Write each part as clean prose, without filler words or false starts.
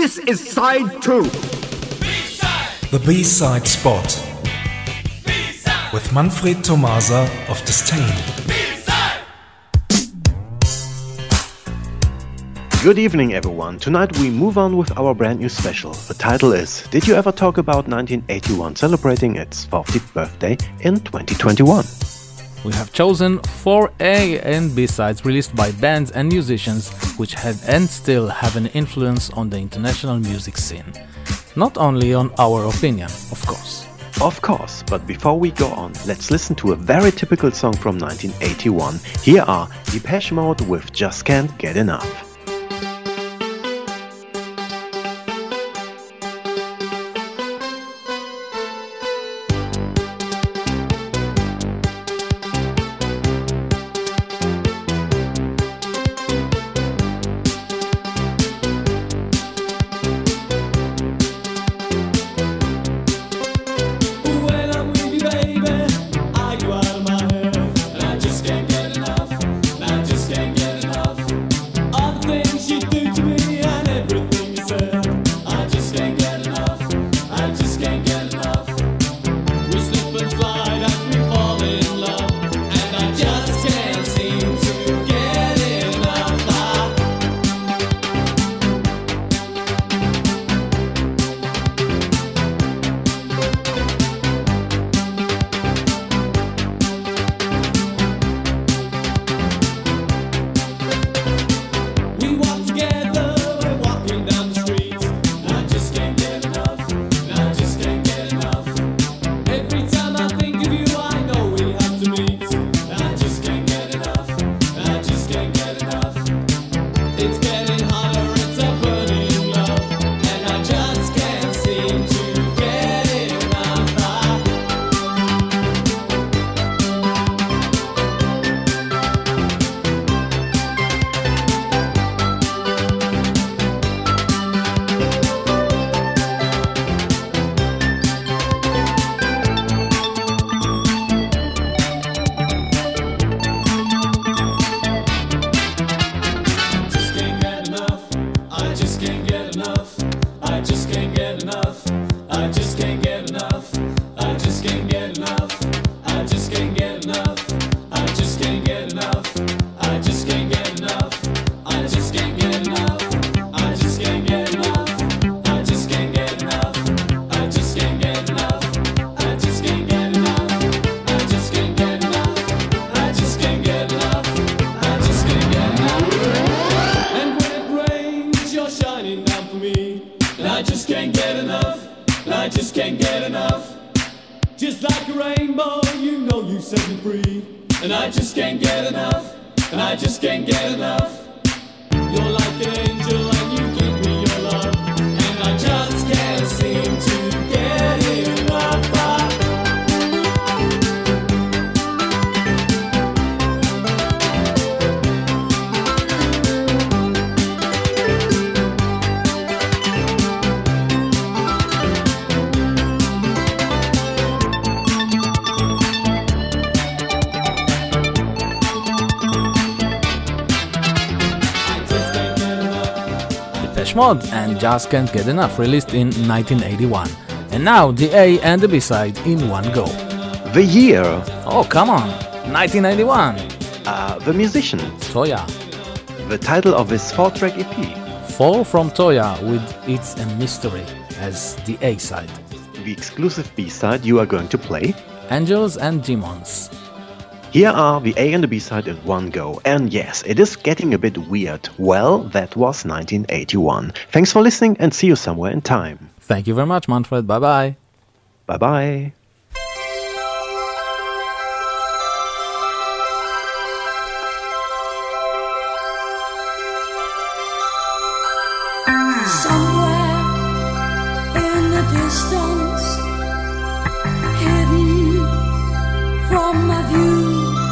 This is side 2. B-side. The B-side spot. B-side. With Manfred Tomasa of Disdain. Good evening, everyone. Tonight we move on with our brand new special. The title is Did You Ever Talk About 1981, celebrating its 40th birthday in 2021. We have chosen 4 A and B sides released by bands and musicians which had and still have an influence on the international music scene. Not only on our opinion, of course. Of course, but before we go on, let's listen to a very typical song from 1981. Here are Depeche Mode with Just Can't Get Enough. Mode and Just Can't Get Enough, released in 1981. And now the A and the B side in one go. The year. Oh, come on. 1981. The musician. Toya. The title of his 4-track EP. Fall from Toya with It's a Mystery as the A side. The exclusive B side you are going to play. Angels and Demons. Here are the A and the B side in one go. And yes, it is getting a bit weird. Well, that was 1981. Thanks for listening and see you somewhere in time. Thank you very much, Manfred. Bye-bye. Bye-bye. Somewhere in the distance, hidden from my view,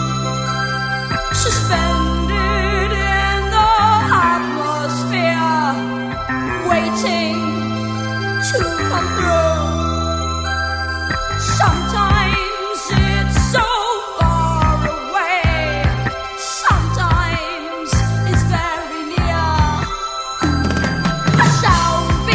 suspended in the atmosphere, waiting to come through. Sometimes it's so far away, sometimes it's very near. A sound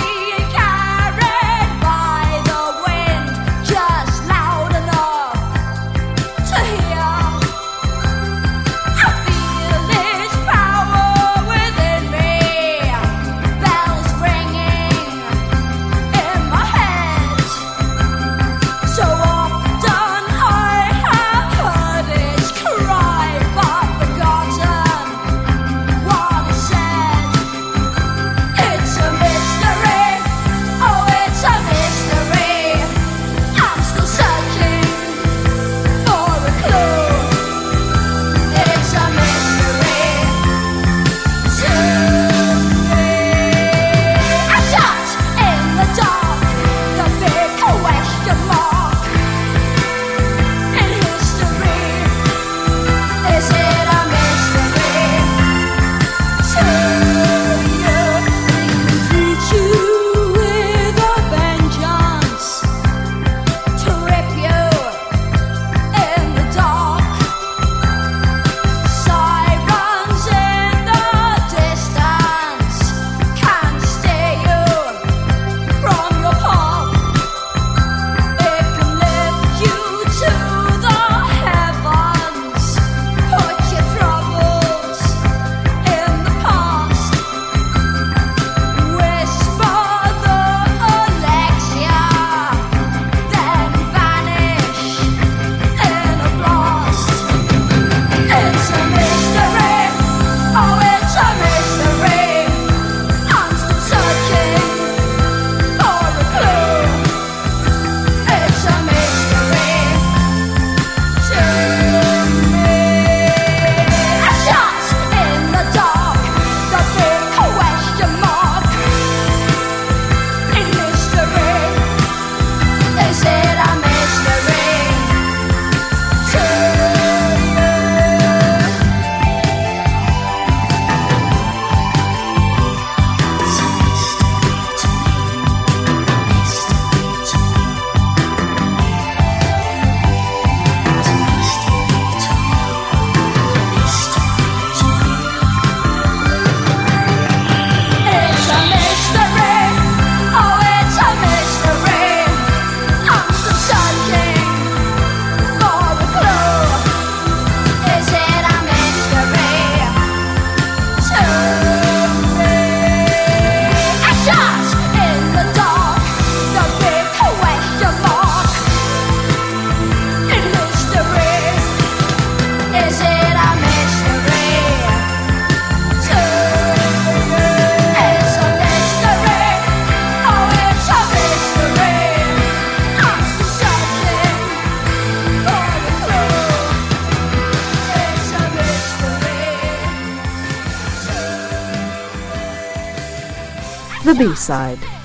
The B-side.